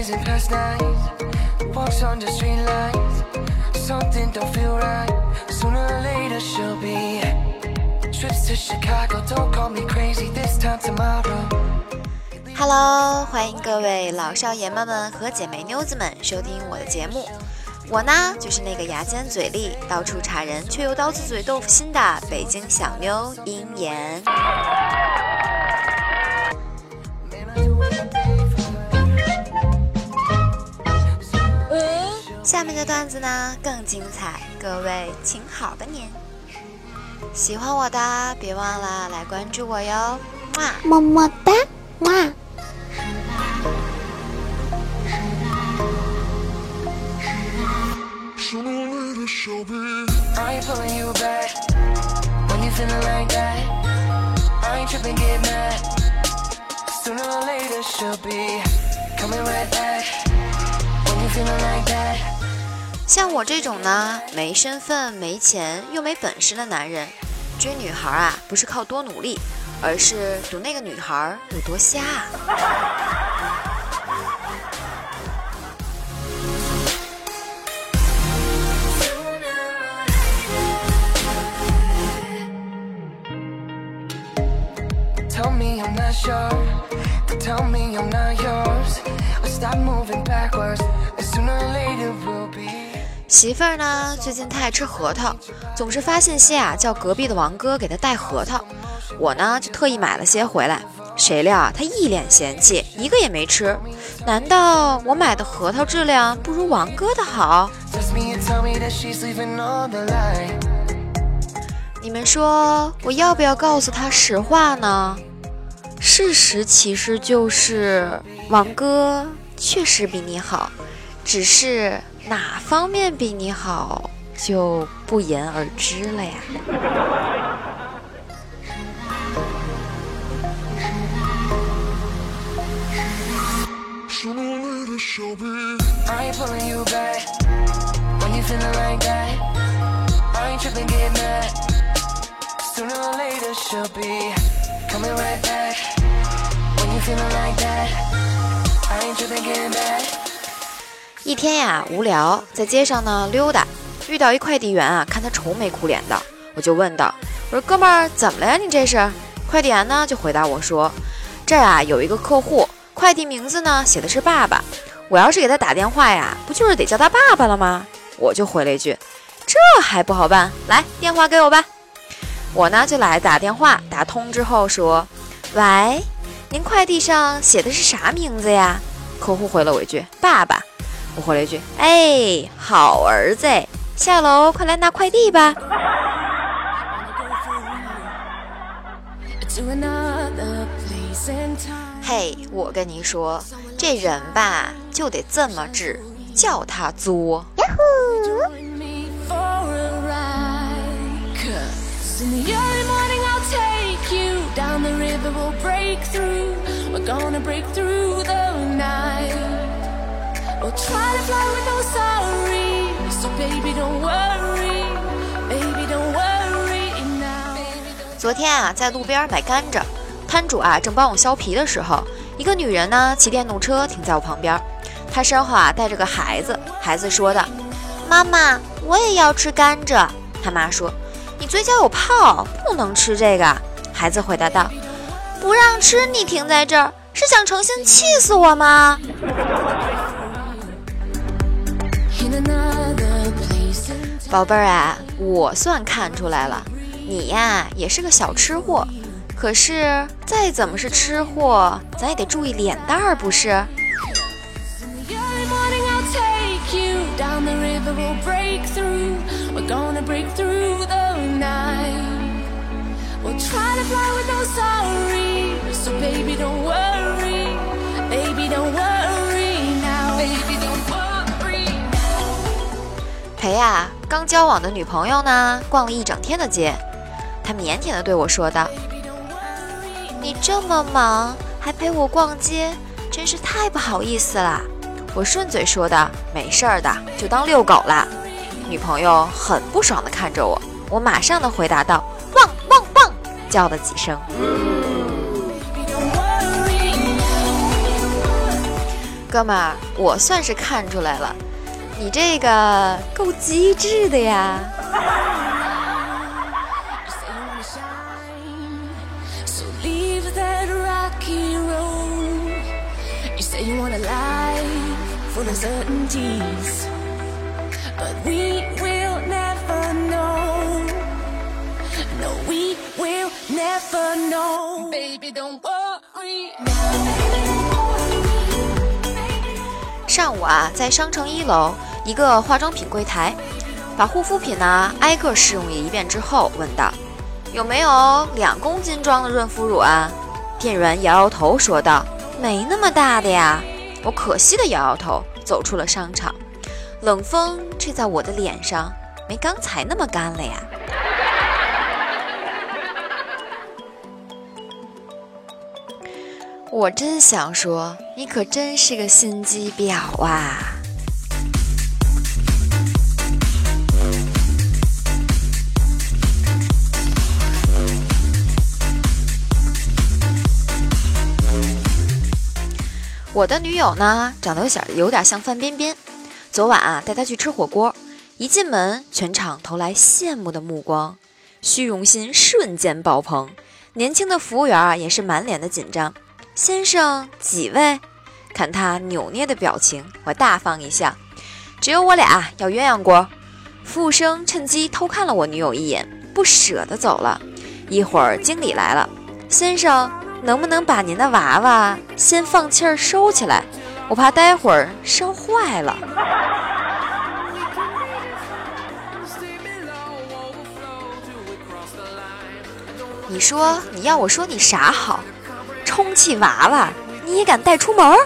blazing past nights, walks on the street lights. Something don't feel right. Sooner or later she'll be. Trips to Chicago, don't call me crazy this time tomorrow.Hello， 欢迎各位老少爷们们和姐妹妞子们收听我的节目。我呢，就是那个牙尖嘴利、到处插人却又刀子嘴豆腐心的北京小妞鹰妍。下面的段子呢更精彩，各位请好的您。喜欢我的，别忘了来关注我哟， 么么哒，哇。 像我这种呢，没身份、没钱又没本事的男人，追女孩啊，不是靠多努力，而是赌那个女孩有多瞎。 Tell me I'm not sure, tell me I'm not yours. I'll stop moving backwards, and sooner or later we'll be. 媳妇儿呢，最近太爱吃核桃，总是发信息啊，叫隔壁的王哥给她带核桃。我呢就特意买了些回来，谁料啊，他一脸嫌弃，一个也没吃。难道我买的核桃质量不如王哥的好？你们说我要不要告诉他实话呢？事实其实就是王哥确实比你好，只是哪方面比你好就不言而知了呀。一天呀，无聊，在街上呢溜达，遇到一快递员啊，看他愁眉苦脸的，我就问道：“我说哥们儿，怎么了呀？你这是？”快递员呢就回答我说：“这儿啊有一个客户，快递名字呢写的是爸爸，我要是给他打电话呀，不就是得叫他爸爸了吗？”我就回了一句：“这还不好办，来电话给我吧。”我呢就来打电话，打通之后说：“喂，您快递上写的是啥名字呀？”客户回了我一句：“爸爸。”我回了一句：“哎，好儿子，下楼快来拿快递吧。”嘿，我跟你说，这人吧就得这么治，叫他作。We'll try to fly with no sorry, so baby don't worry, baby don't worry now. 昨天啊，在路边买甘蔗，摊主啊正帮我削皮的时候，一个女人呢骑电动车停在我旁边，她身后啊带着个孩子，孩子说的：“妈妈，我也要吃甘蔗。”他妈说：“你嘴角有泡，不能吃这个。”孩子回答道：“不让吃，你停在这儿，是想诚心气死我吗？”宝贝儿啊，我算看出来了，你呀也是个小吃货，可是再怎么是吃货，咱也得注意脸蛋儿，不是？陪啊刚交往的女朋友呢逛了一整天的街，她腼腆地对我说道：“你这么忙还陪我逛街，真是太不好意思了。”我顺嘴说道：“没事儿的，就当遛狗啦。”女朋友很不爽地看着我，我马上地回答道：“汪汪汪！”叫了几声。 哥们儿，我算是看出来了，你这个够机智的呀。上午啊，在商城1楼一个化妆品柜台，把护肤品呢挨个试用一遍之后，问道：“有没有2公斤装的润肤乳啊？”店员摇摇头说道：“没那么大的呀。”我可惜的摇摇头，走出了商场。冷风吹在我的脸上，没刚才那么干了呀。我真想说，你可真是个心机婊啊！我的女友呢，长得有点像范冰冰。昨晚啊，带她去吃火锅，一进门，全场投来羡慕的目光，虚荣心瞬间爆棚。年轻的服务员啊，也是满脸的紧张。先生，几位？看他扭捏的表情，我大方一笑。只有我俩要鸳鸯锅。服务生趁机偷看了我女友一眼，不舍得走了。一会儿经理来了，先生，能不能把您的娃娃先放气儿收起来？我怕待会儿烧坏了。你说你要我说你啥好？充气娃娃你也敢带出门？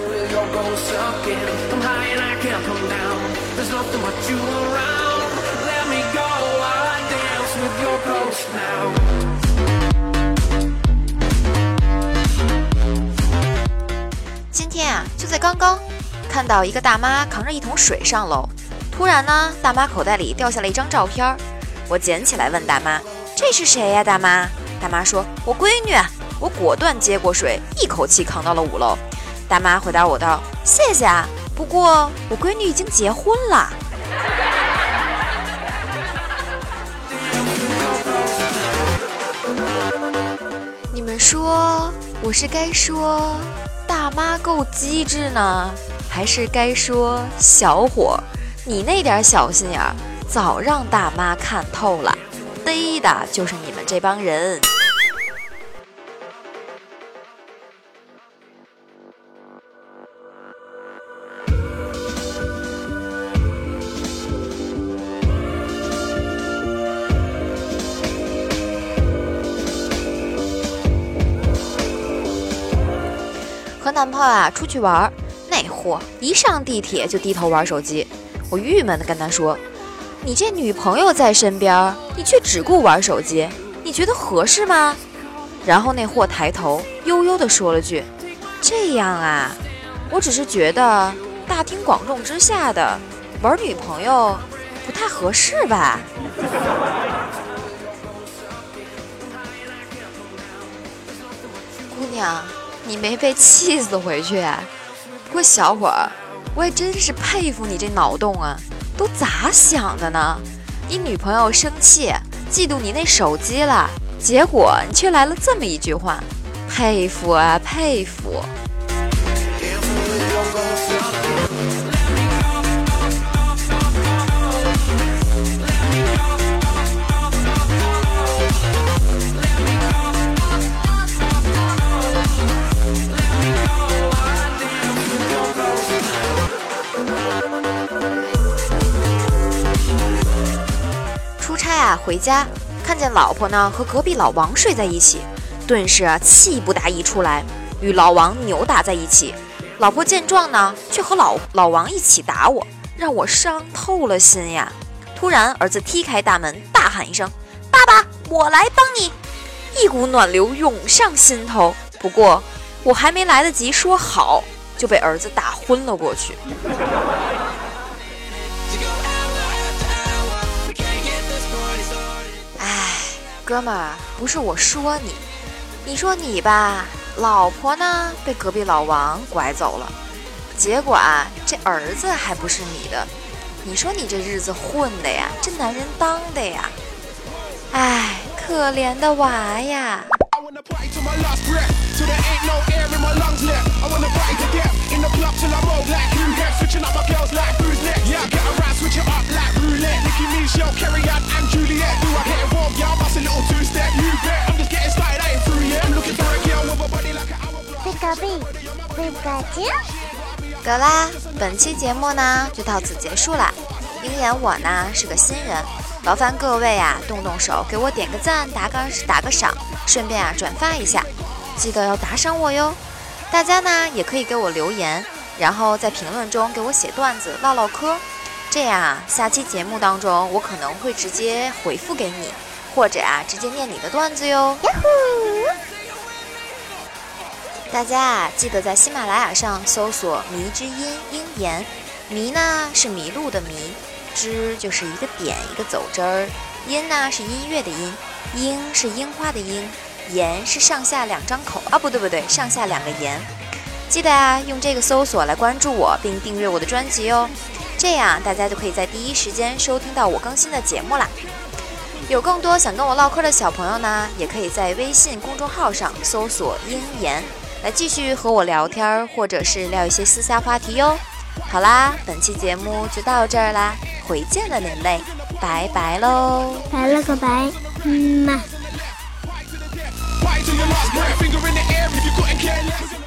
今天啊，就在刚刚看到一个大妈扛着一桶水上楼，突然呢，大妈口袋里掉下了一张照片，我捡起来问大妈：“这是谁呀，大妈？”大妈说：“我闺女。”我果断接过水，一口气扛到了5楼。大妈回答我道：“谢谢啊，不过我闺女已经结婚了。”你们说我是该说大妈够机智呢，还是该说小伙你那点小心眼儿早让大妈看透了，逮的就是你们这帮人。和男朋友啊出去玩，那货一上地铁就低头玩手机，我郁闷地跟他说：“你这女朋友在身边，你却只顾玩手机，你觉得合适吗？”然后那货抬头悠悠地说了句：“这样啊，我只是觉得大庭广众之下的玩女朋友不太合适吧。”姑娘，你没被气死回去啊？不过小伙儿，我也真是佩服你这脑洞啊，都咋想的呢？你女朋友生气嫉妒你那手机了，结果你却来了这么一句话，佩服啊佩服。回家看见老婆呢和隔壁老王睡在一起，顿时气不打一处来，与老王扭打在一起。老婆见状呢，却和老王一起打我，让我伤透了心呀。突然儿子踢开大门，大喊一声：“爸爸，我来帮你！”一股暖流涌上心头。不过我还没来得及说好，就被儿子打昏了过去。哥们儿，不是我说你，你说你吧，老婆呢被隔壁老王拐走了， 结果啊，这儿子还不是你的，你说你这日子混的呀，这男人当的呀，唉，可怜的娃呀。得啦，本期节目呢就到此结束啦。鹰眼我呢是个新人，劳烦各位啊动动手给我点个赞，打个赏，顺便啊转发一下，记得要打赏我哟。大家呢也可以给我留言，然后在评论中给我写段子唠唠嗑，这样啊下期节目当中我可能会直接回复给你，或者啊直接念你的段子哟。大家啊记得在喜马拉雅上搜索迷之音鹰言，迷呢是迷路的迷，之就是一个点一个走之儿，音呢是音乐的音，樱是樱花的樱，言是上下两张口啊，不对，上下两个言。记得啊用这个搜索来关注我并订阅我的专辑哦，这样大家就可以在第一时间收听到我更新的节目啦。有更多想跟我唠嗑的小朋友呢，也可以在微信公众号上搜索鹰言来继续和我聊天，或者是聊一些私下话题哟。好啦，本期节目就到这儿啦，回见了人类，拜拜喽， 拜了个拜，嘛。